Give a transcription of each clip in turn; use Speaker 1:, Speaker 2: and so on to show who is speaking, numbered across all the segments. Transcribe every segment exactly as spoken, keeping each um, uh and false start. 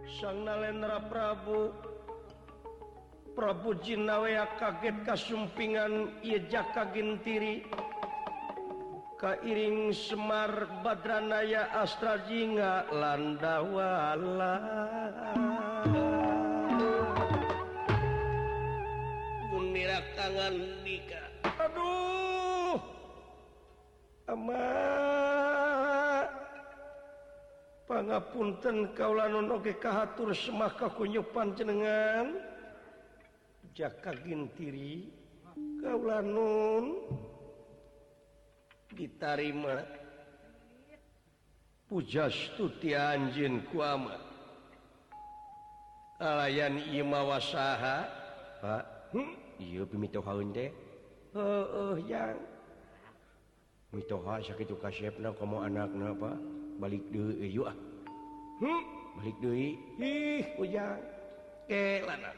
Speaker 1: Sang Nalendra Prabu Prabu Jinawea kaget kasumpingan ieu jaka gintiri kairing Semar Badranaya Astra Jingga Landawala Gunira kangan Dika aduh ama pangapunten kaula nun oge kahatur semaka kunyupan jenengan jaka gintiri kaula nun ditarima pujastuti anjeun ku ama alayan ieu mawasaha Pak hmm? Ieu pimitohaeun teh heueuh yang mitoha sakitu kasepna komo anakna Pak balik deui yuk ah hmm? Balik deui ih ujang kelana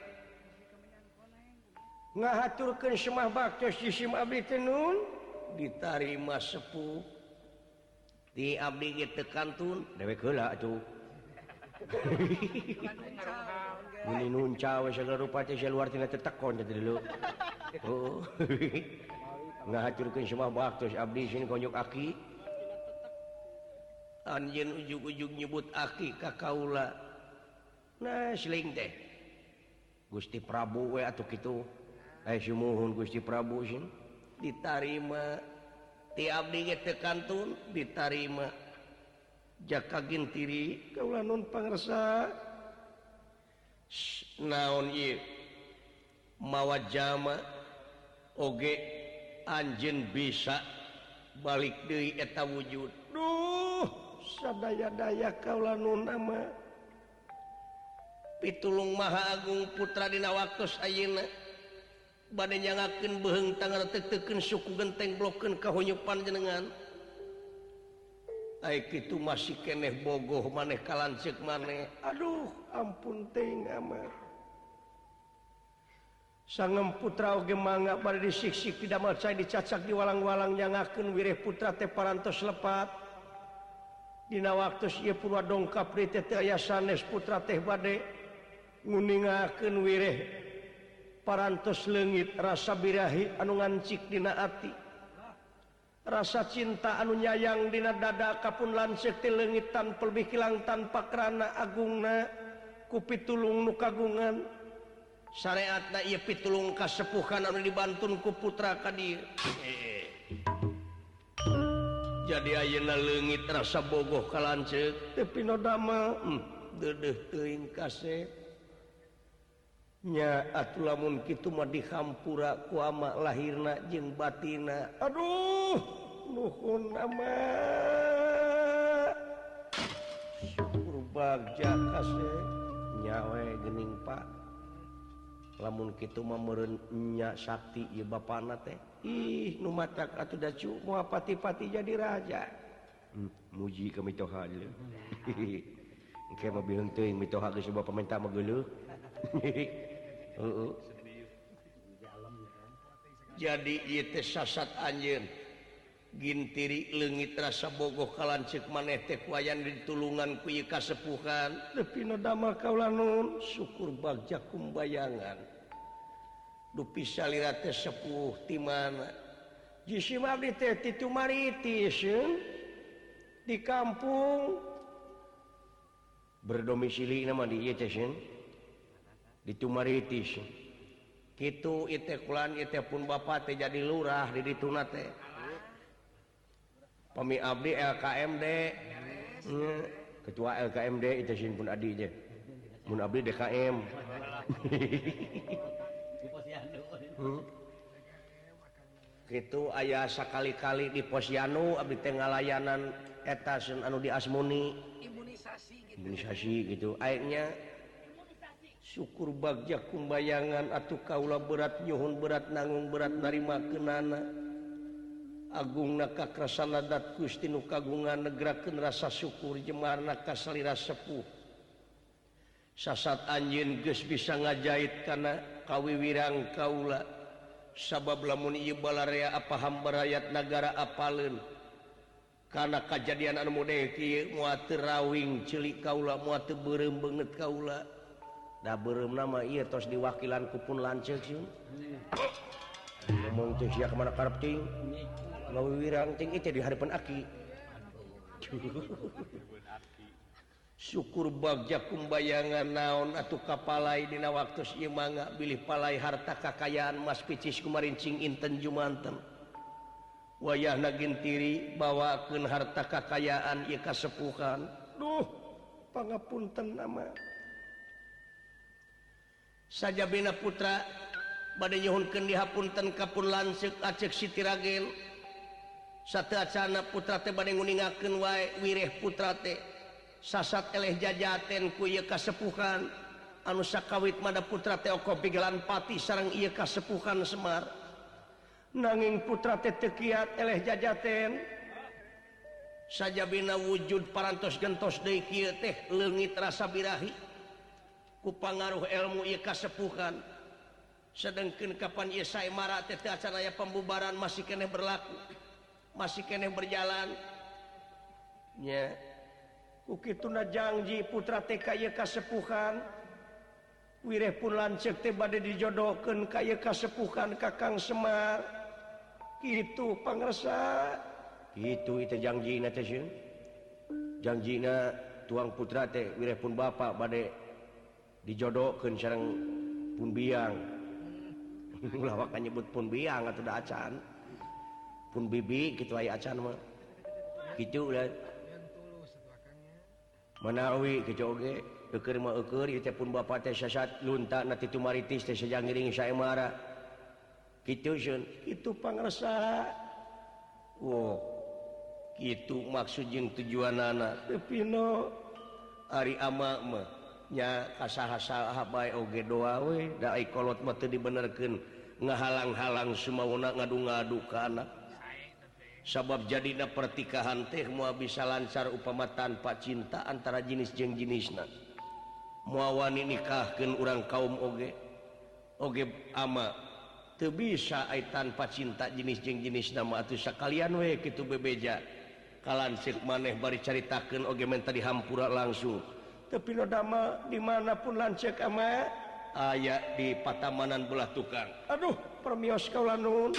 Speaker 1: ngahaturkeun semah baktos di sim abdi teh nun ditarima sepuh di abdi ge teu kantun dewek heula atuh muni nunca we segala rupa teh saluar tina teu tekon teh dulu oh ngahaturkeun semah baktos abdi sini konjok aki anjeun ujug-ujug nyebut aki ka kaula nah seling teh Gusti Prabu we atuh kitu aya sumuhun Gusti Prabu sih ditarima ti abdi ge teu kantun ditarima jaka gintiri kaula nun pangresa naon ieu mawa jama oge anjeun bisa balik deui eta wujud duh sadaya-daya kaula nun ama pitulung Maha Agung putra dina waktos ayeuna bade nyangakeun beheung tanggal teukeun suku genteng blokeun kahonyupan jenengan ai kitu masih keneh bogoh maneh kalanceuk maneh aduh ampun teuing ama sangem putra oge mangga bade disiksik pidamel cai dicacak di walang-walang nyangakeun wireh putra teh parantos lepat dina waktos ieu purwa dongkap deui teh teu aya sanes putra teh bade nguningakeun wireh parantos leungit rasa birahi anu ngancik dina ati rasa cinta anu nyayang dina dada kapun lanceuk ti leungit tanpa lebih kilang tanpa krana agungna ku pitulung nu kagungan syariatna ieu pitulung kasepuhan anu dibantun ku putra ka dieu jadi ayeuna leungit rasa bogoh ka lanceuk teu pinodama hmm, deudeuh teuing kasep nya atuh lamun kitu mah dihampura ku ama lahirna jeung batina aduh nuhun ama syukur bagja kasep nya we geuning Pak lamun kitu mah meureun nya sakti ieu bapana teh ih nu matak atuh da cu moal pati-pati jadi raja hmm, muji ka mitoha deuleu engke mah bileung teuing mitoha geus loba pamenta mah geuleuh heeh jadi ieu teh sasat anjeun gintiri leungit rasa bogoh kalanceuk maneh teh kuayan ditulungan ku ieu kasepuhan nepi na damel kaula nun syukur bagja kumbayangan dupi salira teh sepuh ti mana jisim abdi teh ti Tumaritis di kampung berdomisili nama di ieu teh di Tumaritis kitu ieu teh kulan ieu teh pun bapa teh jadi lurah di dituna teh pami abdi L K M D hmm, ketua L K M D itu sin pun adi je mun abdi D K M hmm. Kitu aya sakali-kali di Posyandu abdi teh ngalayanan eta anu di Asmuni imunisasi gitu imunisasi gitu akhirnya syukur bagja kumbayangan atuh kaula berat nyuhun berat nanggung berat narimakeunana agungna kakrasana dat Gusti nu kagungan negrakeun rasa syukur jemarna ka salira sepuh sasat anjeun geus bisa ngajait kana kawiwirang kaula sabab lamun ieu balarea apa hamba rakyat nagara apaleun karena kejadian anu model kieu moal teu rawing celik kaula moal teu beureum beungeut kaula da beureum nama ieu tos diwakilan ku pun lanceuk sieun ngomong teh sia kemana karep ting ngawirang ting itu di harapan aki syukur bagja kumbayangan naon atuh kapalai dina waktos ieu mangga bilih palai harta kakayaan mas picis kumarincing inten jumanten wayahna gintiri bawakeun harta kakayaan ieu kasepuhan duh pangapunten nama sajabina putra bade nyuhunkeun dihapunten ka pun lanceuk Aceh Siti Ragen sateu acana putra teh bade nguningakeun wae wireh putra teh sasat eleh jajaten ku ieu kasepuhan anu sakawit mada putra teh oko pigelan pati sareng ieu kasepuhan Semar nanging putra teh teu kiat eleh jajaten sajabina wujud parantos gentos deui kieu teh leungit rasa birahi ku pangaruh ilmu ieu kasepuhan sedengkeun kapan ieu sae mara teh teu acan aya pembubaran masih keneh berlaku masih keneh berjalan nya ukituna janji putra teh ka ieu kasepuhan wireh pun lanceuk teh bade dijodohkeun ka ieu kasepuhan Kakang Semar kitu pangresa kitu itu janjina teh sieun janjina tuang putra teh wireh pun bapa bade dijodohkeun sareng pun biang lawak nyebut pun biang atuh da acan pun bibi kitu aya acan mah kitu ulah manawi kitu oge eukeur mah eukeur ieu teh pun bapa teh sasat lunta na ti tumaritis teh sajangiring saemara kitu sieun kitu pangresa wo kitu maksud jeung tujuanana teu pino ari ama mah nya kasaha-saha bae oge doa we da ai kolot mah teu dibenerkeun ngahalang-halang sumauna ngadu-ngadu ka anak sabab jadina pertikahan teh moal bisa lancar upama tanpa cinta antara jenis jeung jenisna moal wani nikahkeun urang kaum oge oge ama teu bisa ai tanpa cinta jenis jeung jenisna mah atuh sakalian we kitu bebeja kalansik maneh bari caritakeun oge menta dihampura langsung tapi no dama dimanapun lanceuk ama aya di Patamanan belah tukang aduh permios kaula nuhun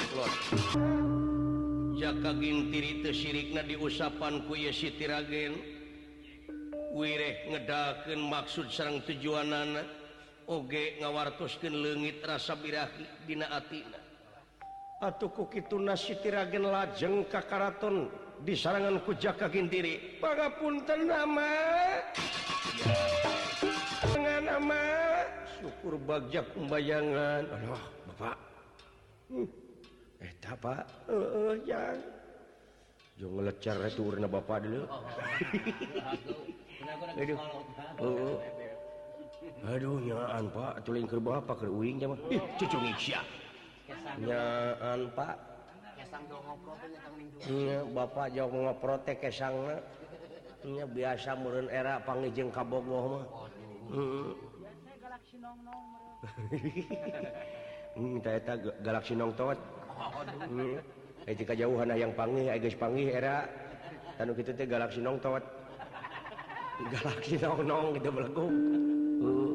Speaker 1: jaka gintiri teu sirikna diusapan ku ieu Siti Ragen wireh ngedakeun maksud sareng tujuanana oge ngawartoskeun leungit rasa birahi dina atina atuh ku kituna Siti Ragen lajeng ka karaton disarangan ku jaka gintiri pangapunten ama dengan nama syukur bagja kumbayangan aduh bapak hmm. eh apa heeh yang jo ngelecar returna bapak dulu aduh heeh aduh nyaan pak tuling keur bapak keur uing mah ih cucung sia nyaan pak kesang do ngoprot nya Kang Ning nya bapak jauh ngoprot teh kesangna nya biasa meureun era pangijeng ka bogoh mah heeh galaksi nong-nong meureun tah eta galaksi nong tot heeh eta kajauhan yang panggih aya geus panggih era anu kitu teh galaksi nong tot galaksi nong-nong kitu belegog heeh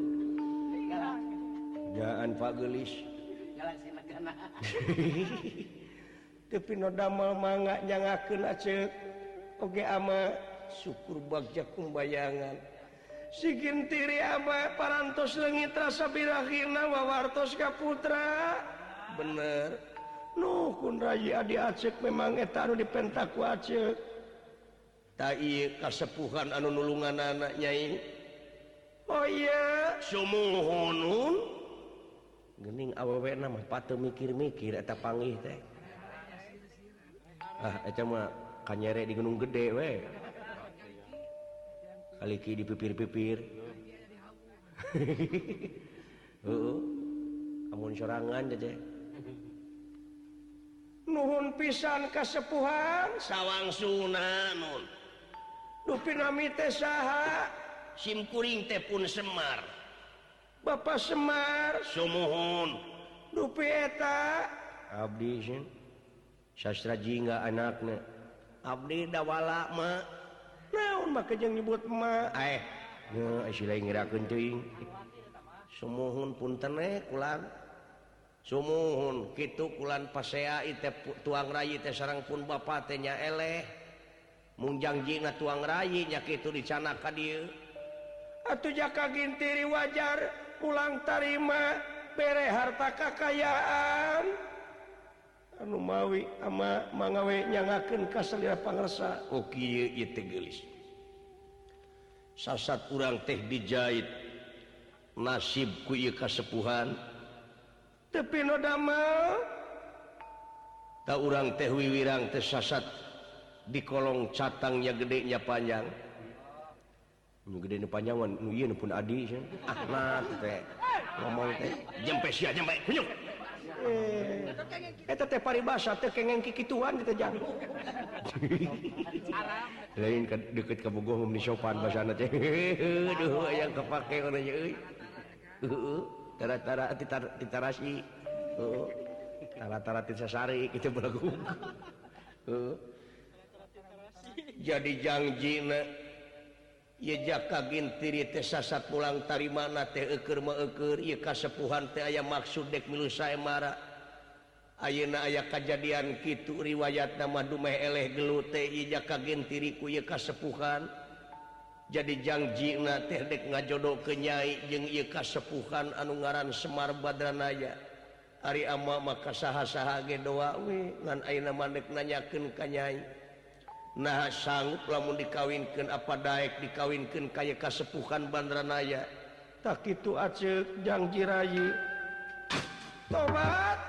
Speaker 1: nyaan Pak Geulis galaksi negana teu pino damel mangga nyangakeun aceuk oge ama syukur bagja kumbayangan si gintiri ama parantos leungit rasa birahina wawartos ka putra bener nuh kun rayi adi Aceh memang eta anu dipentak ku Aceh ta ieu kasepuhan anu nulunganana Nyai oh iya sumuhun geuning awewena mah pateu mikir-mikir eta panggih teh ah eta mah kanyere di Gunung Gede we kaliki di pipir-pipir heeh amun sorangan aja nuhun pisan kasepuhan sawangsuna nun dupi nami teh saha sim kuring teh pun Semar Bapak Semar sumuhun dupi eta abdi sin sastra jingga anakna abdi dawala mah naon make jeung nyebut emak eh nya sila ngirakeun teuing sumuhun punten eh kulan sumuhun kitu kulan pasea teh tuang rayi teh sareng pun bapa teh nya eleh mung jangjina tuang rayi nya kitu dicana ka dieu atuh jaka gintiri wajar pulang tarima bere harta kakayaan anu mawi ama mangawe nyangakeun ka salira pangarsa oh kieu ieu teh geulis sasat urang teh dijait nasib ku ieu kasepuhan tapi no damel tak urang teh wiwirang teh sasat di kolong catangnya gedenya panjang nu gede nu panjang nu ieu pun adi ah nah teh ngomong teh jempe sia jempe hunyuk eh eta teh paribasa teh kengeng kikituan kita jang lain deket ka bogoh mun sopan basana teh aduh aya kapake kana euy heeh tara-tara titarasi heeh tara-tara tisasari kitu belagu heeh jadi jangjina ieu jaka gintiri teh sasat pulang tarimana teh eukeur mah eukeur ieu kasepuhan teh aya maksud dek milu sae mara ayeuna aya kajadian kitu riwayatna mah dumeh eleh gelut teh ieu jaka gintiri ku ieu kasepuhan jadi jangjina teh dek ngajodokeun nyai jeung ieu kasepuhan anu ngaran Semar Badranaya ari ama maka saha-saha ge doa we ngan ayeuna mandek nanyakeun ka nyai nah sanggup lamun dikawinkeun apa daek dikawinkeun ka ieu kasepuhan Badranaya tak kitu aceuk janji rayi tobat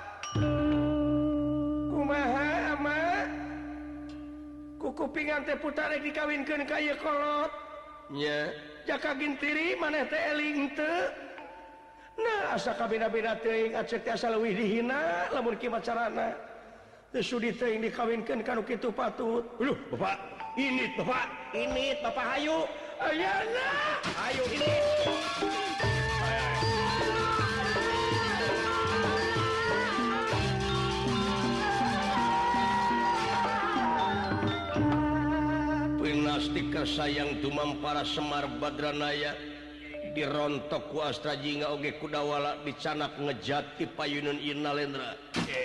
Speaker 1: kumaha ama kukupingan teh putarek dikawinkeun ka ieu kolot nya jaka gintiri maneh teh eling teu nah asa kabina-bina teuing aceuk teh asa leuwih dihina lamun kieu carana teu sudi teuing dikawinkeun kanu kitu patut leuh bapak ini bapak ini bapak hayu ayeuna hayu ini Pinastika sayang tumam para Semar Badranaya dirontok ku Astra Jingga oge kudawala dicanak ngejati payunun Innalendra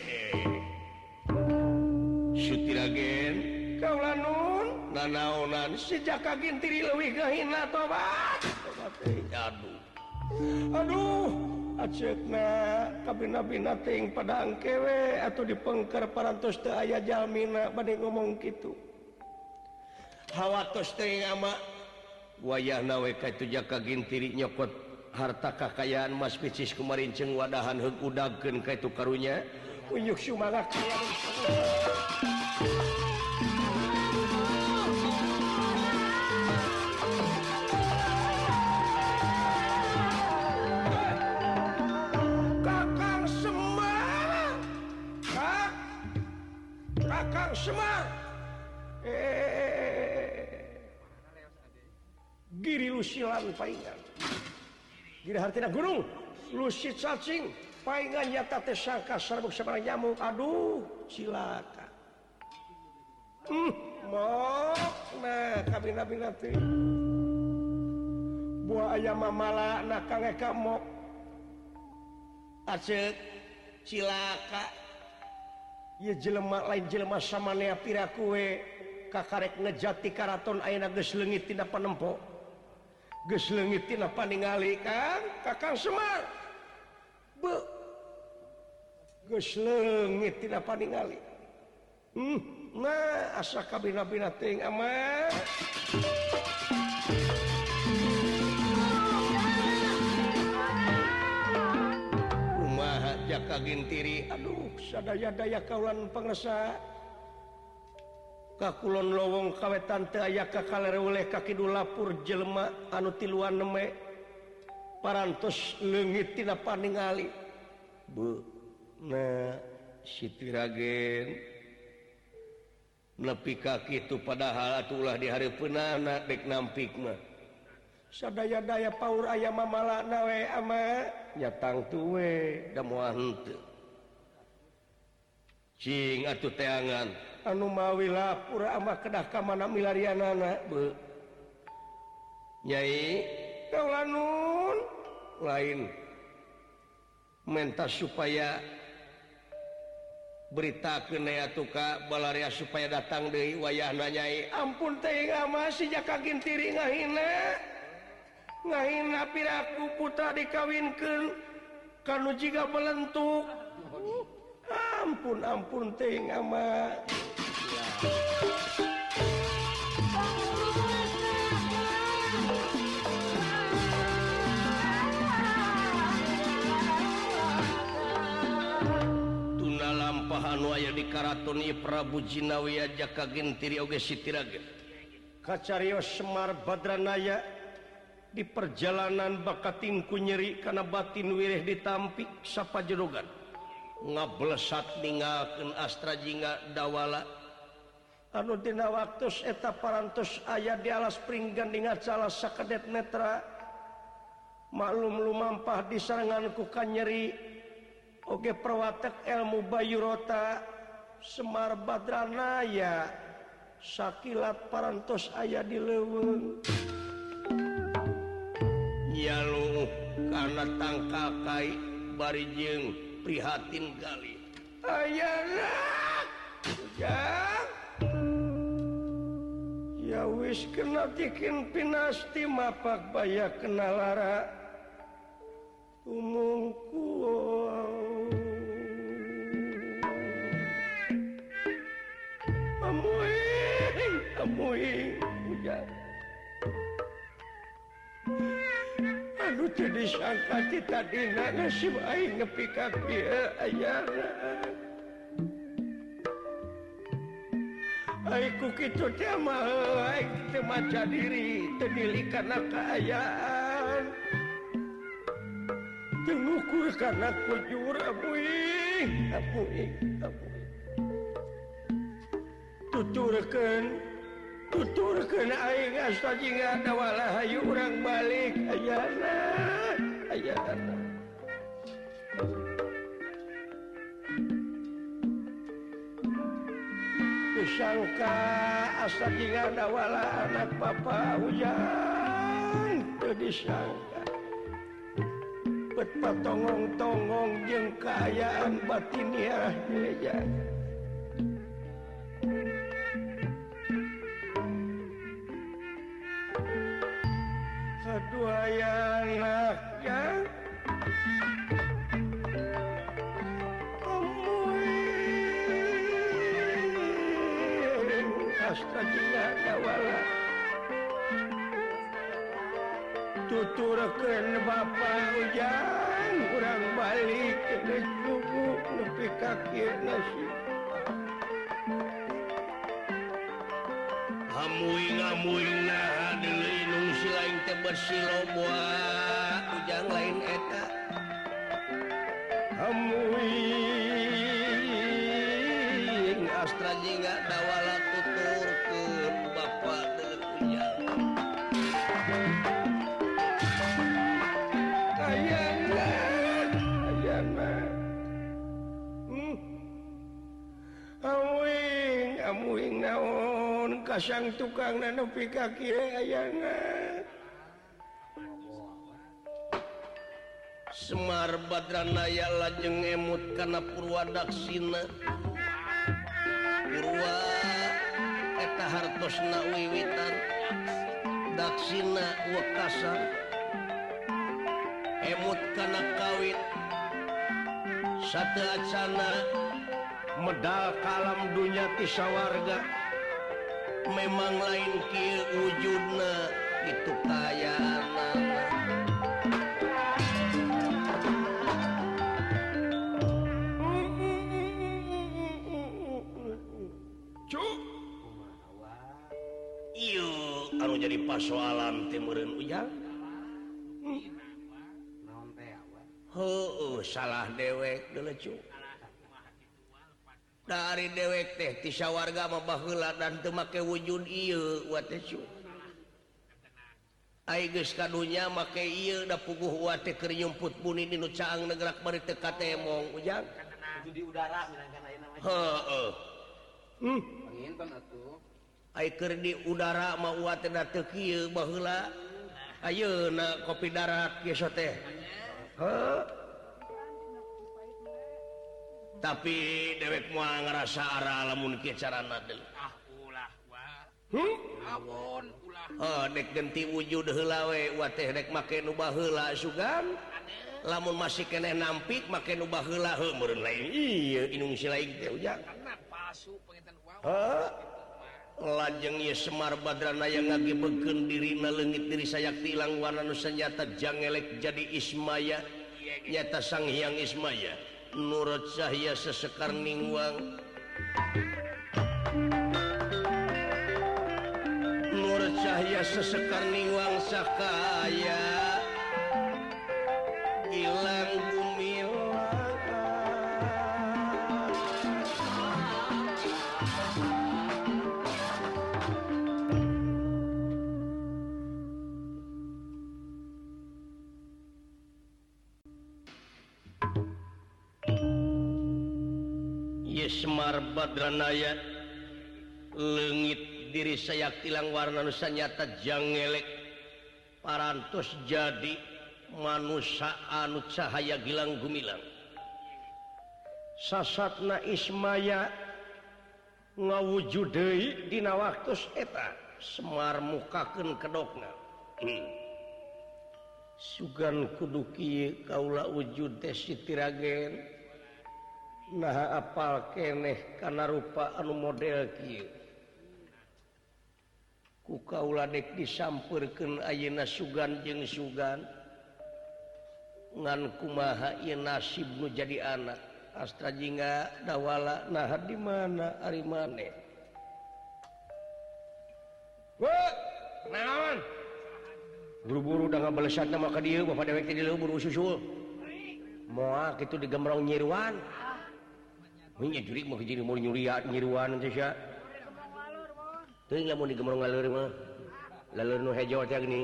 Speaker 1: Sutiragen kaula nun nanaonan si jaka gintiri leuwih gahina tobat tobat aduh aduh aceukna kabina-bina teuing pada angkewe atuh dipengker parantos teu aya jalmina bade ngomong kitu hawatos teuing ama wayahna we ka itu jaka gintiri nyokot harta kakayaan mas picis kumarin ceung wadahan heug udagkeun ka itu karunya unyuk sumangak Kakang Semar Kak Kakang Semar eh giri lusilan paingan giri hartina gunung lusit cacing paingan nyata teh sangka sarbuk sabarang nyamuk aduh cilaka hmm mok nah kabina-bina teh buah ayam mamala na kange ka mok aceuk cilaka ieu jelema lain jelema samanea piraku we kakarek ngejati karaton ayeuna geus leungit tina panempo geus leungit tina paningali Kang Kakang Semar be geus leungit tina paningali hmm nah asa kabina-bina teuing ama kumaha jaka gintiri aduh sadaya-daya kaulan pangresa kakulon lowong kawetan teu aya kakalere ka kidul lapur jelema anu tiluan neme parantos leungit tina paningali bu nah Sitiragen nepi ka kitu padahal atulah di hareupeunana dek nampik mah sadaya-daya paur aya mamalana we ama nyatang tu we da moal henteu cing atuh teangan anu mawilah pura ama kedah ka mana milarianana be Nyai kaulanun lain mentas supaya beritakeun atuh ka balaria supaya datang deui wayahna Nyai ampun teh masih jaka gintiri ngahina ngahina piraku putra dikawinkeun kanu jiga belentuk ampun ampun teh ama lampahan waya di karaton ieu Prabu Jinawiya jaka gentiri oge Sitiraga kacarios Semar Badranaya di perjalanan bakatingku nyeri kana batin wireh ditampi sapajerogan ngablesat ninggalkeun astra jingga dawala anu dina waktos eta parantos aya di alas pringgan dengan salah sakadet netra maklum lumampah disarangan ku kanyeri oge perwatek ilmu Bayurota Semar Badranaya sakilat parantos aya di leuweung nyalu kana tangkal kai bari jeung prihatin gali ayana ujang ya wis kena tikin pinasti mapak baya kena lara umungku amuing amuing ujang anu jadi sangka kita dina nasib aing nepi ka kieu ayana aiku kitu teh mah aing teu maca diri teu nilih kana kaayaan teu ngukur kana kujur amuing amuing amuing tuturkeun tuturkeun aing asta jingga dawala hayu urang balik ayana ayana disangka asta jingga dawala anak papa ujang teu disangka bet patongong-tongong jeung kaayaan batiniah ya kedua anaknya amuing astagina dawala tuturkeun bapa ujang urang balik ke cucu nepi ka kieu nasib amuing-amuing nah deui nung silaing teh bersiloboa ujang lain eta amuing astra jingga dawala tuturkeun bapa deuleu ujang ayana ayana hmm. amuing amuing naon kasang tukang nepi ka kieu ayana Semar Badranaya lajeng emut kana Purwadaksina Purwa eta hartosna wiwitan Daksina wekasan emut kana kawit sateu acana medal kalam dunya ti sawarga memang lain kieu wujudna itu kayaana cuk ieu anu jadi pasoalan teh meureun ujang naon teh heueuh salah dewek deuleu cuk dari dewek teh ti sawarga mah baheula dan teu make wujud ieu wa teh cu ai geus kadunya make ieu da puguh wa teh keur nyumput buni dinu caang negerak bari teu katemong ujang itu di udara minangkan ayeuna mah heueuh Aiker di udara mau teh teu kieu baheula. Ayeuna kopi darat kieu teh. Heuh. Tapi dewek moal ngarasa ara lamun kieu carana deui.
Speaker 2: Ah ulah wah.
Speaker 1: Hmm?
Speaker 2: Awon ulah.
Speaker 1: Oh, dek genti wujud heula we, wa teh dek make nu baheula sugan. Lamun masih keneh nampik make nu baheula heuh meureun lain. Ieu inung si lain teh ujang.
Speaker 2: Karena palsu penginten wow.
Speaker 1: Heuh. Lajeng ieu Semar Badranaya ngagebegkeun dirina leungit diri sayakti ilang warna nu sanjata jangelek jadi Ismaya. Nyata Sang Hyang Ismaya. Nurut cahya sesekar ningwang. Nurut cahya sesekar ningwang sakaya ilang gumilang. Semar Badranaya leungit diri sayakti ilang warna nu sanyata jangelek parantos jadi manusia anu cahaya gilang gumilang. Sasatna Ismaya ngawujud deui dina waktos eta Semar mukakeun kedokna. Hmm. Sugan kudu kieu kaula wujud teh Siti Ragen. Nah apal keneh kana rupa anu model kieu. Ku kaula dek disampeurkeun ayeuna sugan jeung sugan. Ngan kumaha ieu nasib nu jadi anak. Astra jingga dawala nah di mana ari maneh. Wah, naon? Buru-buru da ngabalesatna mah ka dieu bapak dewek teh di leuh buru susul. Moal kitu digemrong nyiruan. Nya jurig mah jadi mau nyuriat nyiruan teh sia. Teuing lamun digemrong ngaleur mah. Laleur nu hejo teh geuning.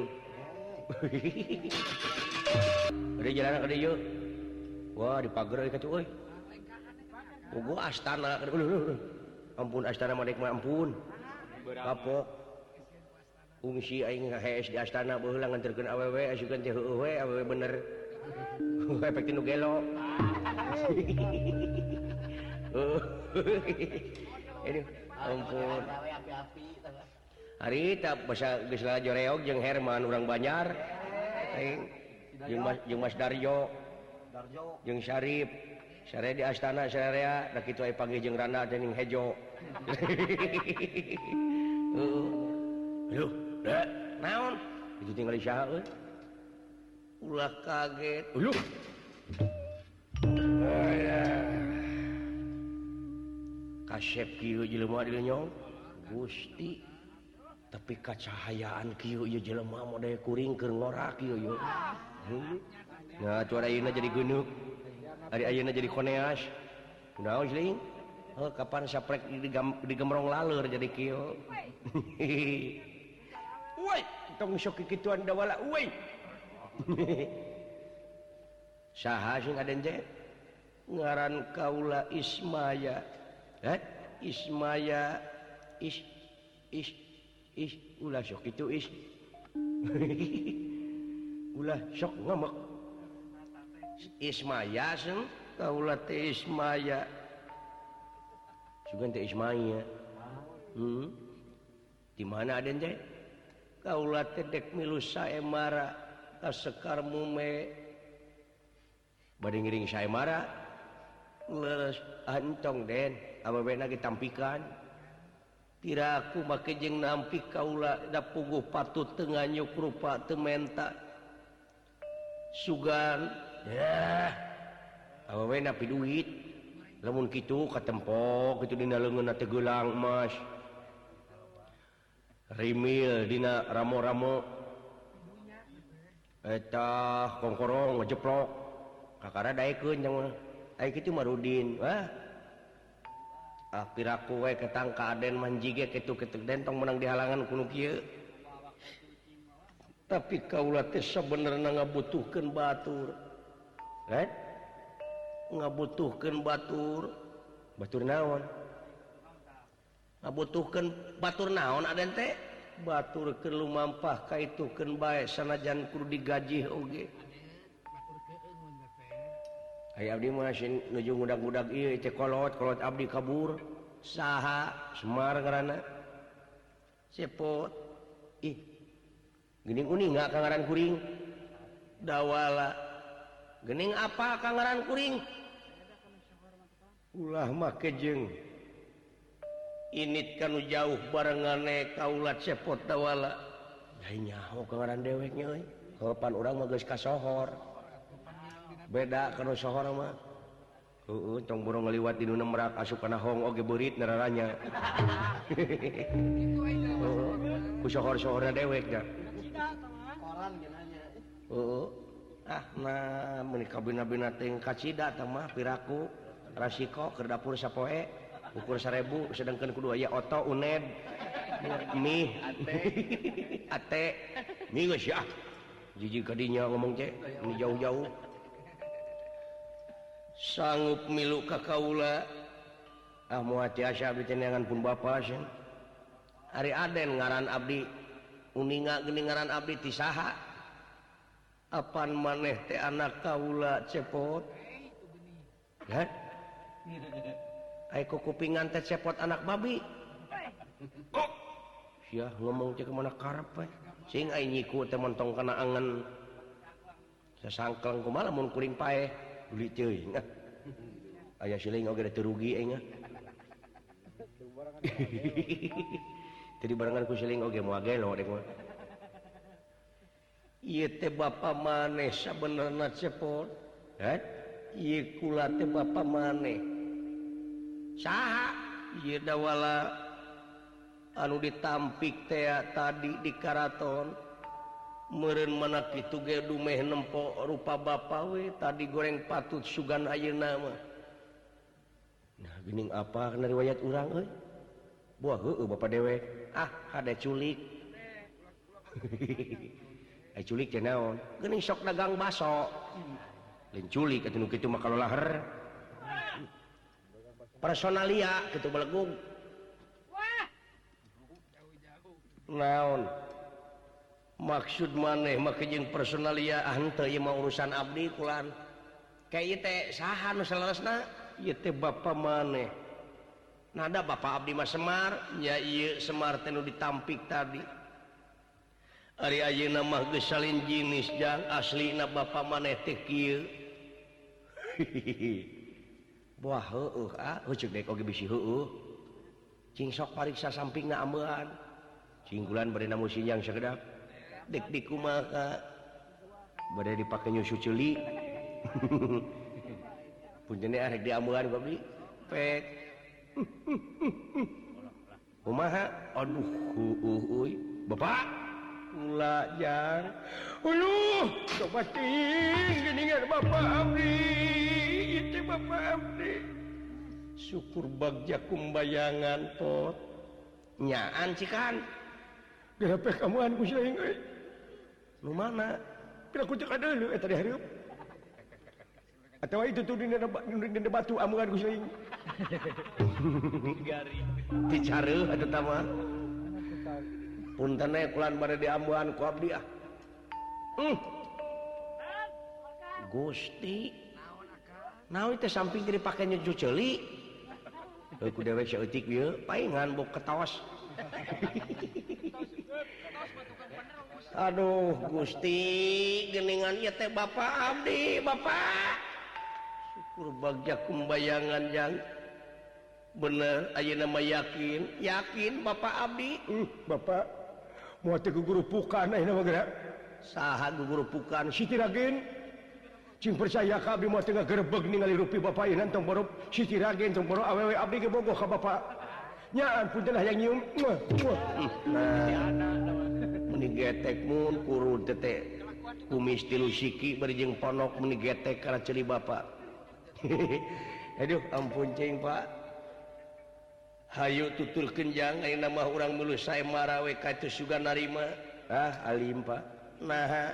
Speaker 1: Ada jalan ka dieu. Wah, di pager ka tuh euy. Bogo astana. Ampun astana mah dek mah ampun. Kapok. Ungsi aing ngahees di astana baheula nganterkeun awewe asukeun teh heueuh we awewe bener. Efek tinu gelo. Oh. Ini ampun. Hari tak basa geus joreog jeung Herman urang Banjar. Jeung Mas jeung Mas Darjo. Jeung Syarif. Sare di astana sarea da kitu aya panggih jeung Rana jeung Hejo. Heeh. Aduh, da naon? Itu tinggal di saha euy. Ulah kaget. Uluh. Kasep kieu jelema dieu nyong Gusti tapi kacahayaan kieu ieu jelema model kuring keur ngorak kieu yo. Nah cuara ayeuna jadi geunuk. Ari ayeuna jadi koneas. Kunaon sih? Heuh kapan saprek digemrong laleur jadi kieu. Woi, tong sok kikituan dawala woi. Saha sing aden teh? Ngaran kaula Ismaya. Eh, Ismaya is is is ulah sok itu is. Ulah sok ngamek. Ismaya sing kaula teh Ismaya. Sugan teh Ismaya. Hmm. Di mana aden teh? Kaula teh dek milu saemara ka Sekar Mume. Bade ngiring saemara. Leres antong den. Awewena ditampikan tiraku make jeung nampi kaula da puguh patut teu nganyuk rupa teu menta sugan yah awewena pi duit lamun kitu katempok kitu dina leungeunna teh geulang emas rimil dina ramo-ramo eta kongkorong ngejeplok kakara daekeun jeung aya kitu Marudin wah ah piraku we ketang ka aden manjige kitu-kitu den tong menang dihalangan kuno kieu tapi kaula teh sabenerna ngabutuhkeun batur kan ngabutuhkeun batur batur naon ngabutuhkeun batur naon aden teh baturkeun lumampah ka itukeun bae sanajan kudu digaji oge aya abdi mah sin nuju ngudag-ngudag ieu teh kolot kolot abdi kabur saha Semar ngaranna cepot ih geuning uning nggak kangaran kuring dawala geuning apa kangaran kuring ulah make jeung init kanu jauh barengane kaulat cepot dawala lain nyaho kangaran deweknya euy kapan urang mah geus kasohor beda kanu sohor mah heueuh tong burung ngaliwat di nu merak asup kana hong oge beurit nararanya ku sohor-sohorna dewek dah koran geunanya heueuh ah nah mun kabina-bina teh kacida tah mah piraku rasiko keur dapur sapoe ukur seribu sedangkan kudu aya oto uned mie ate mie geus ya jijik kadinya ngomong teh ini jauh-jauh sanggup milu ka kaula ah moal tiasa abdi teh neangan pun bapa sih ari aden ngaran abdi uninga geuning ngaran abdi ti saha apan maneh teh anak kaula cepot ya ai kupingan teh cepot anak babi kok sia ngomong teh kemana karep we sing ai nyiku teh montong kana angen sasangkeng kumaha mun kuring paeh beli teuing aya siling oge teu rugi enya tadi barengan ku siling oge moal gelo dek mah ieu teh bapa maneh sabenerna cepot ha ieu kula teh bapa maneh saha ieu dawala anu ditampik teh tadi di karaton meureun mana kitu ge dumeh nempo rupa bapa we tadi goreng patut sugan ayeuna mah nah geuning apa kana riwayat urang euy buah heueuh bapa dewek ah hade culik ai culik teh naon geuning sok dagang baso lain culik atuh nu kitu mah kalolaher personalia kitu belegug naon maksud maneh make jeung personalia ah henteu ieu mah urusan abdi kulan ka ieu teh saha nu salaresna ieu teh bapa maneh nada bapa abdi mah Semar nya ieu Semar teh nu ditampik tadi ari ayeuna mah geus salin jinis jang aslina bapa maneh teh kieu buah heueuh ah heuceuk dek oge bisi heueuh cing sok pariksa sampingna ambean cinggulan bade namu sinjang sagedap dek di kumaha bade dipake nyusu ceuli punjene arek di ambean babi pek kumaha aduh heueuh euy bapak ulah jang uluh coba ting geuningan bapak abdi itu bapak abdi syukur bagja kumbayangan pot nyaan cikan geupeh kamuan ku saing euy nu mana pira ku cek adeuleu eta di hareup atawa itu tuh dina dina batu amungan ku saing garing dicareuh atuh tah mah punten we kulan bade diambuhan ku abdi ah hmm. Gusti naon teh samping teh dipake nyucu ceuli heuh ku dewek saeutik ieu paingan bok ketaos aduh Gusti geuningan ieu teh bapa abdi bapak syukur bagja kumbayangan jang bener ayeuna mah yakin yakin bapak abdi uh, bapak moal teh gugurupukan ayeuna mah geura saha gugurupukan Siti Ragen cing percaya ka abdi moal teh ngagerebeg ningali rupi bapak ieu tong borop Siti Ragen tong borop awewe abdi ge bogoh ka bapak nyaan punten hayang nyium nah meni getek mun kurun teh teh kumis tilu siki bari jeung ponok meni getek kana ceuli bapak aduh ampun cing pak hayu tuturkeun jang ayeuna mah urang meuleuh sae marawe ka teu sugan narima ah alim pak nah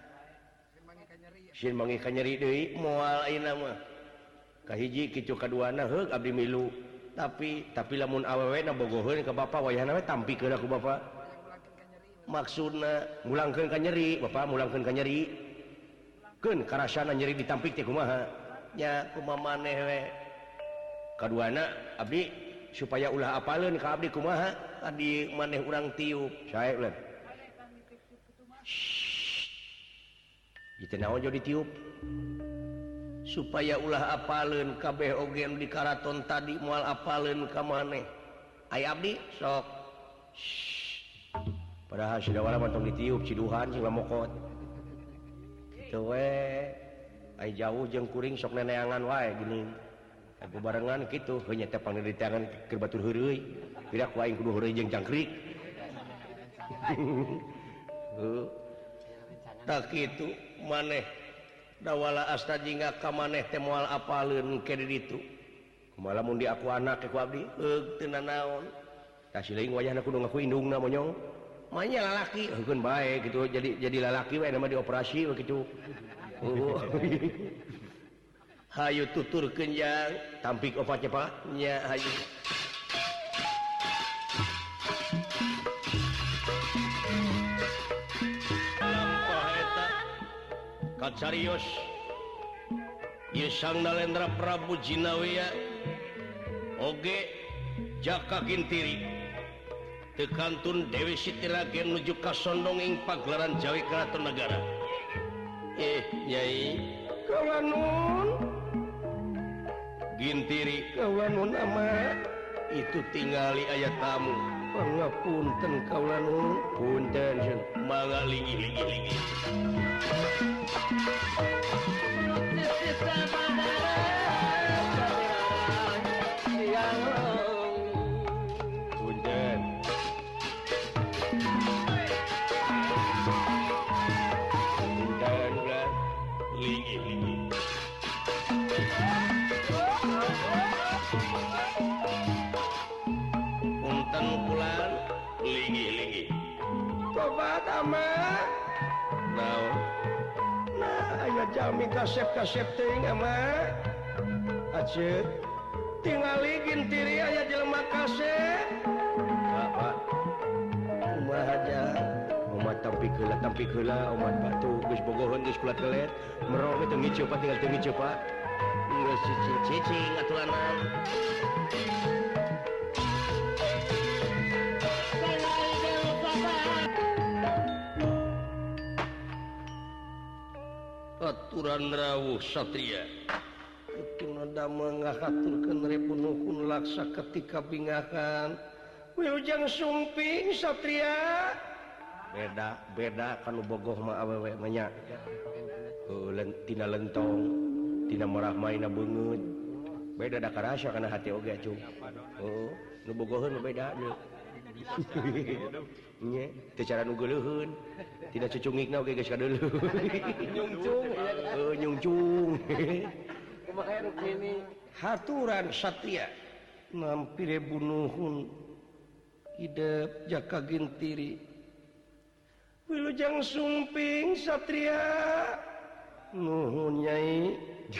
Speaker 1: sin mangi ka nyeri deui moal ayeuna mah kahiji kitu kaduana heug abdi milu tapi tapi lamun awewe na bogoheun ka bapak wayahna we tampikeun aku bapak maksudna mulangkeun ka nyeri bapak mulangkeun ka nyeri keun karasana nyeri ditampik teh kumaha nya kumaha maneh we kaduana abdi supaya ulah apaleun ka abdi kumaha adi maneh urang tiup sae ulah itu naon jadi tiup supaya ulah apaleun kabeh oge di karaton tadi moal apaleun ka maneh aya abdi sok padahal sidawala mah tong ditiup ciduhan sing lamokot kitu we ai jauh jeung kuring sok neneangan wae gini aku barengan kitu heunya teh panelitian keur batur heureuy pira ku aing kudu heureuy jeung jangkrik heuh tak kitu maneh dawala asta jingga ka maneh teh moal apaleun ke di ditu kumaha lamun di aku anak ku abdi eug teu nanaon tah sileung wayahna kudu ngaku indungna monyong manya lalaki heukeun bae gitu jadi jadi lalaki we nama dioperasi we kitu oh. Hayu tuturkeun jang tampik opat Pak nya hayu lampah eta kacarios ieu Sang Nalendra Prabu Jinawiya oge Jaka Gintiri tekantun Dewi Siti Ragen nuju ka sondong ing pagelaran Jawi Keraton Nagara eh Nyai kawanun Gintiri kawanun ama itu tingali aya tamu pangapunten kawanun punten mangga lingi lingi lingi punten punten ulah lingi lingi punten pulan lingi lingi tobat ama naon nah aya jami kasep-kasep teuing ama aceut tingali Gintiri aya jelema kasep Pak kumaha aja umat tampik heula tampik heula umat batu geus bogoheun geus kulat gelet merong teu ngiceu Pak tinggal teu ngiceu Pak geus cicing aturanna aturan rawuh satria kutuna damel ngahaturkeun repunuhun laksa ketika bingakan wilujeng sumping satria beda beda kanu bogoh mah awewe mah nya heuh tina lentong tina marah maina beungeut beda da karasa kana hati oge cung heuh nu bogoheun mah beda deui nya teu cara nu geuleuheun tina cucungikna oge geus kadeuleuh nyungcung heuh nyungcung kumaha rukmini haturan satria nampire bunuhun hidup Jaka Gintiri wilujeng sumping satria nuhun Nyai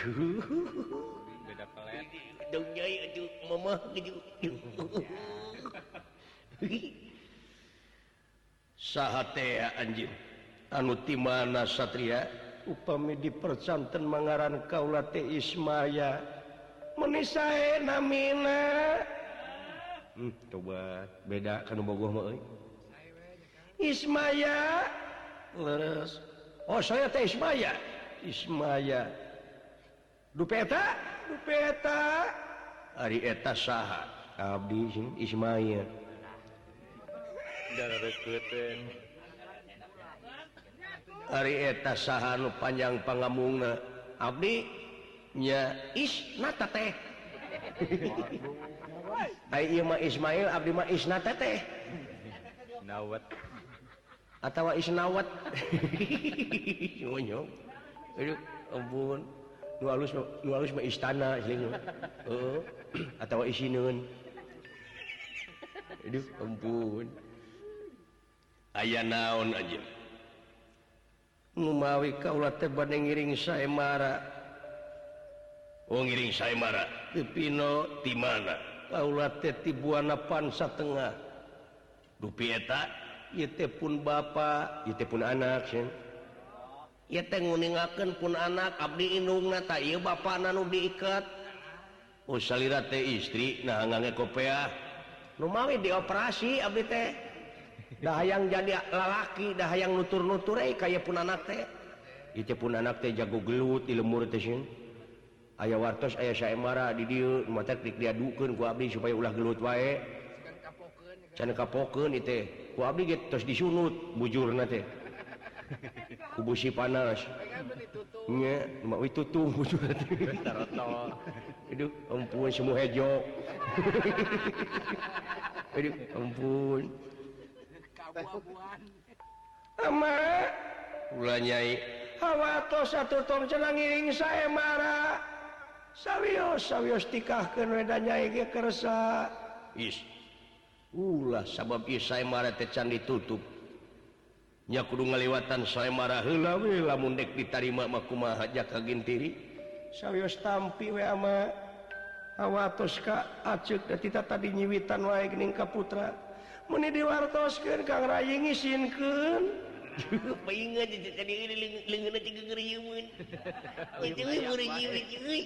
Speaker 1: beda pelet dong Nyai aduh mamah gitu saha teh anjeun anu ti mana satria upami dipercanten mangaran kaula teh Ismaya meuni sae namina hmm coba beda kanu bogoh mah euy Ismaya leres oh saya teh Ismaya Ismaya dupeta dupeta ari eta saha abdi Ismaya ari eta saha nu panjang pangamungna abdi nya Isnata teh ai ieu mah Ismail abdi mah Isnata teh nawat atawa Isnawat nyonyong aduh ampun nu alus nu alus mah istana jeung heeh atawa isineun aduh ampun aya naon aja ngumawi kaula teh bade ngiring saemara oh ngiring saemara teu pino ti mana kaula teh ti buana pansa tengah dupi eta ieu teh pun bapa ieu teh pun anak sieun ieu teh nguningakeun pun anak abdi indungna ta ieu bapana nu diikat oh salira teh istri nah ngangge kopeah nu mawi dioperasi abdi teh dah hayang jadi lalaki dah hayang nutur-nutur euy kaya pun anak teh ieu teh pun anak teh jago gelut di lemur teh sieun aya wartos aya saemara di dieu mah teh dik diadukeun ku abdi supaya ulah gelut wae can kapokeun ieu teh ku abdi ge tos disunut bujurna teh ku busi panas nya mah we tutung bujurna teh taroto aduh ampun semua hejo aduh ampun kabuabuan ama ulah nyai hawa tos atuh tong cenah ngiring saemara sawios sawios tikahkeun we da nyai ge kersa is ulah sabab ieu saemara teh can ditutup nya kudu ngaliwatan saemara heula we lamun dek ditarima mah kumaha jaka gintiri sawios tampi we ama hawa tos ka aceuk da tita tadi nyiwitan wae geuning ka putra mun diwartoskeun Kang Rayi ngisinkeun paingat jadi leungeunna teh geureuyeun itu we meureun nyiwit euy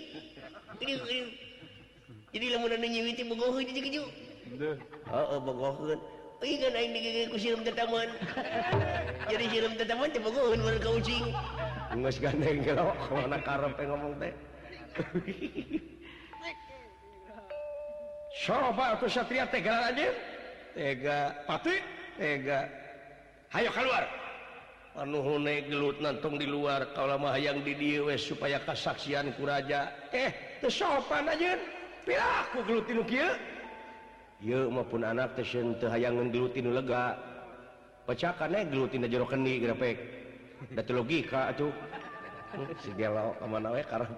Speaker 1: jadi lamun anu nyiwit teh bogoheun jeung kitu heeh bogoheun euy kan aing digege ku sireum tetaman jadi sireum tetaman teh bogoheun meureun ka ucing geus gandeng gelo mana karepe ngomong teh coba atuh satria tega aja tega pati tega hayo keluar anu hune gelut nantong di luar kalau mah hayang di dieu we supaya kasaksian ku raja eh teu sopan ajeun pilah ku gelut nu kieu ieu mah pun anak teh sieun teu hayang gelut nu lega pecakan we gelut dina jero kendi grepek da teu logika atuh si gelo ka mana we karep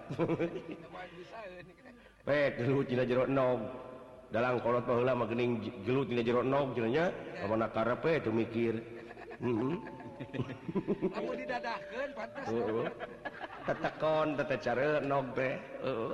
Speaker 1: pek gelut dina jero enog dalang kolot baheula mah geuning gelut dina jero enog cenah nya ka mana karep we teu mikir heeh
Speaker 2: kamu didadahkeun pantas
Speaker 1: heeh tetekon tete care enog teh heeh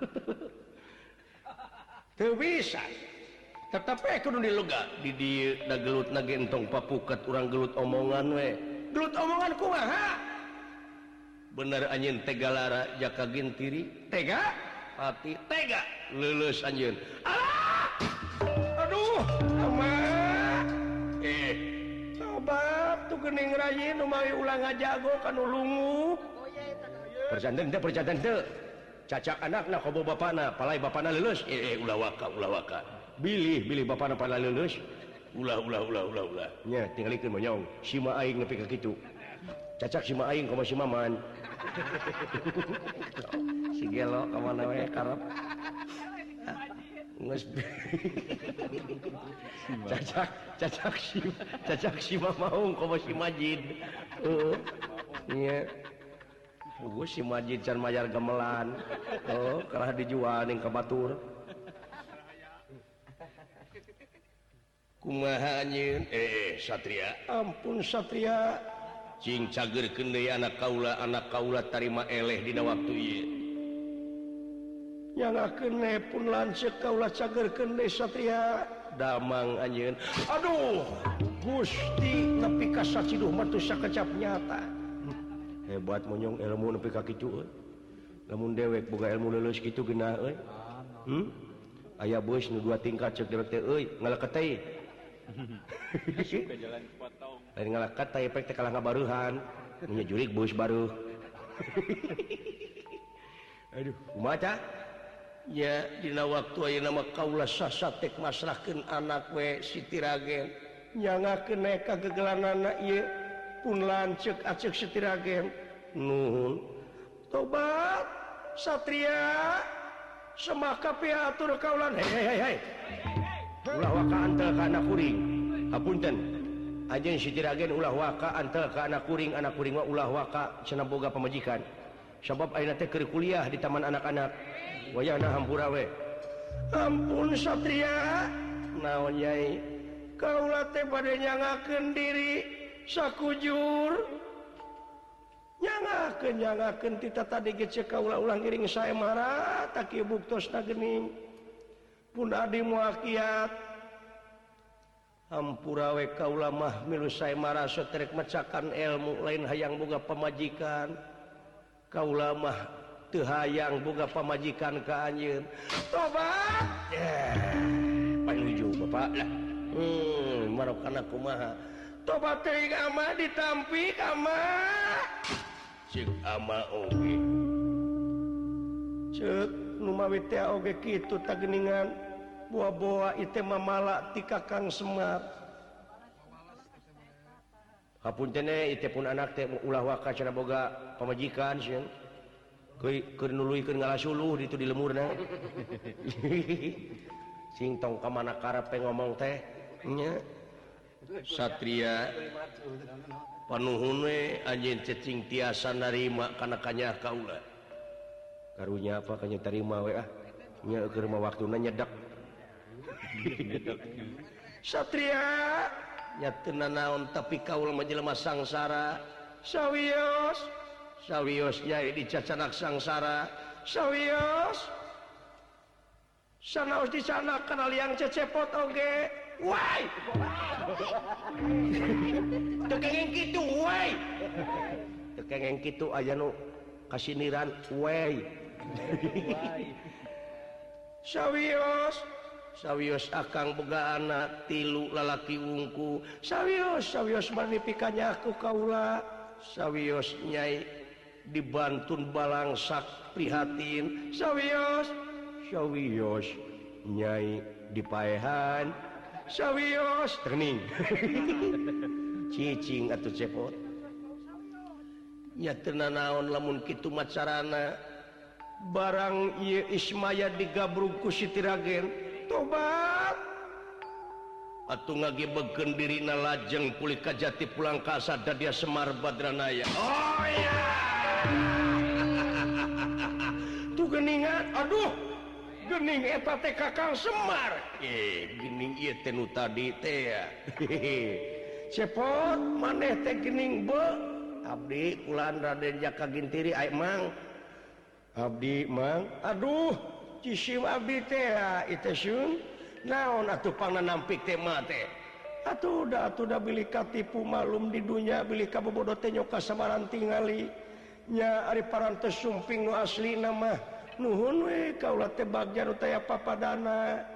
Speaker 1: teu bisa tetep we kudu dilega di dieu da gelutna ge entong papuket urang gelut omongan we gelut omongan kumaha bener anjeun tega lara jaka gintiri tega hati tega leuleus anjeun alah aduh aman eh tobat tuh geuning Rayi nu mawi ulah ngajago kanu lungu perjanten teh perjanten teh cacak anakna ka bapana palai bapana leuleus eh, eh ulah waka ulah waka bilih bilih bapana palai leuleus ulah ulah ulah ulah ulah nya tingalikeun monyong sima aing nepi ka kitu cacak sima aing ka si maman si gelo ka mana we karep geus cacak cacak si cacak si mamaung ka si Majid heeh nya puguh si Majid can mayar gamelan oh kerah dijual ning ka batur kumaha anjeun eh satria ampun satria cing cageurkeun deui anak kaula anak kaula tarima eleh dina waktu ieu nyangakeun ne pun lanceuk kaula cageurkeun deui satria damang anjeun aduh Gusti nepi ka saciduh mah teu sakecap nyata hebat monyong ilmu nepi ka kitu euy lamun dewek boga ilmu leuleus kitu geunah euy hmm aya beus nu dua tingkat ceuk dewek teh euy ngaleket teh jalan potong lain ngalakat teh efek teh kalah ngabaruhan nya jurig beus baruh aduh kumaha tah nya dina waktu ayeuna mah kaula sasatek masrahkeun anak we Siti Ragen nyangakeun ka gegelanana ieu pun lanceuk aceuk Siti Ragen nuhun tobat satria semaka piatur kaulan hei hei hei ulah waka antel ka anak kuring hapunten ajeun Siti Ragen ulah waka antel ka anak kuring anak kuring mah ulah waka cenah boga pamajikan sabab ayeuna teh keur kuliah di taman anak-anak wayahna hampura we ampun satria naon nyai kaula teh bade nyangakeun diri sakujur nyangakeun nyangakeun tita tadi ge ceuk kaula ulah ngiring saemara tak ieu buktosna geuning pun adi muakiat hampura we kaula mah milu sae maraso terek macakan ilmu lain hayang boga pamajikan kaula mah teu hayang boga pamajikan ka anjeun tobat yeah. Panuju bapak lah hmm marokana kumaha tobat teuing ama ditampi ama cek ama oge cek nu mawi teh oge kitu tageningan buah-buah itu mamala ti Kakang Semar. Hapunten itu pun anak teh ulah waka cenah boga pamajikan sieun. Keur nuluykeun ngalasuluh ditu di lemurna. Sing tong ka mana karepe ngomong teh nya. Satria panuhun we anjeun cacing tiasa narima kana kanyah kaula. Karunya apa kanya terima we ah. Nya keur mah waktuna nyedak. Satria nyatuna naon tapi kaul mah jelema sangsara sawios sawios nyai dicacanak sangsara sawios sanaos dicanak kana liang cecepot oge wai teu kengeng kitu wai teu kengeng kitu aya nu kasiniran wai sawios sawios akang boga anak tilu lalaki wungku sawios sawios manipikannya aku kaula sawios nyai dibantun balangsak prihatin sawios sawios nyai dipaehan sawios terning cicing atuh cepot nya teu naon lamun kitu macarana barang ieu Ismaya digabrug ku Siti Ragen tobat atuh ngagebegkeun dirina lajeng pulih ka jati pulang ka asada dia Semar Badranaya oh iya tuh geningan aduh gening eta teh Kakang Semar eh gening ieu teh nu tadi teh ya cepot maneh teh gening be abdi kulan Raden Jaka Gintiri ai mang abdi mang aduh cisim abdi teh itu sun naon atuh pangna nampik teh mah teh atuh da atuh da bilih katipu malum di dunya bilih kabobodo teh nyoka samaran tingali nya ari parantos sumping nu aslina mah nuhun we kaula teh bagja nu taya papadana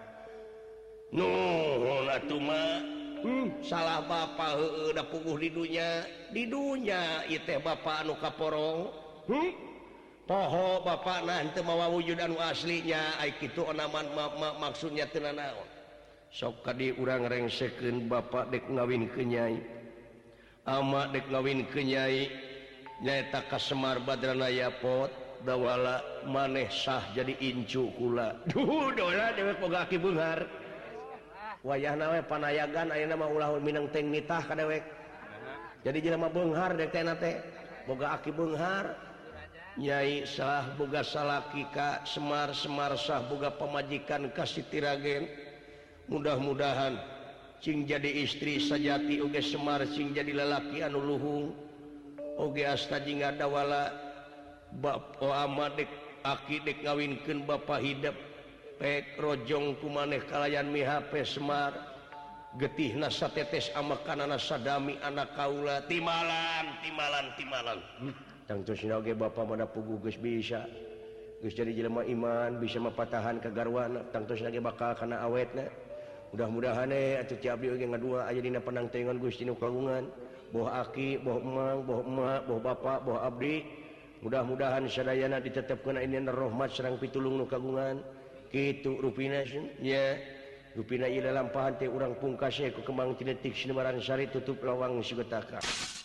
Speaker 1: nuhun atuh mah hmm, salah bapa heueuh da puguh di dunya di dunya ieu teh bapa anu kaporong hmm? Poho bapak nah itu mawa wujud anu aslinya ai kitu onaman ma, ma, maksudnya teu naon sok kadi urang rengsekeun bapak dek ngawin ke nyai ama dek ngawin ke nyai nyaeta ka Semar Badranaya pot dawala maneh sah jadi incu kula duh dola dewek boga aki beunghar wayahna we panayagan ayeuna mah ulah minang teng nitah ka dewek jadi jelema beunghar dek teh teh boga aki beunghar Nyai sah boga salaki ka Semar Semar sah boga pamajikan ka Siti Ragen mudah-mudahan cing jadi istri sajati oge Semar cing jadi lalaki anu luhung oge asta jingga dawala bap o ama dek aki dek ngawinkeun bapa hidup pek rojong kumaneh kalayan mihape Semar getihna satetes amakanana sadami anak kaula timalan timalan timalan tangtosna oge bapa mana puguh geus bisa geus jadi jelema iman bisa mapatahan ka garwana tangtosna ge bakal kana awetna mudah-mudahan eh atuh ti abdi oge ngadua aya dina panangtengan Gusti nu kagungan boh aki boh emang boh emak boh bapa boh abdi mudah-mudahan sadayana ditetepkeun ayeuna rahmat sareng pitulung nu kagungan kitu rupina nya rupina ieu lalampahan teh urang pungkas ku kembang tiletik sinebaran sari tutup lawang sigetaka.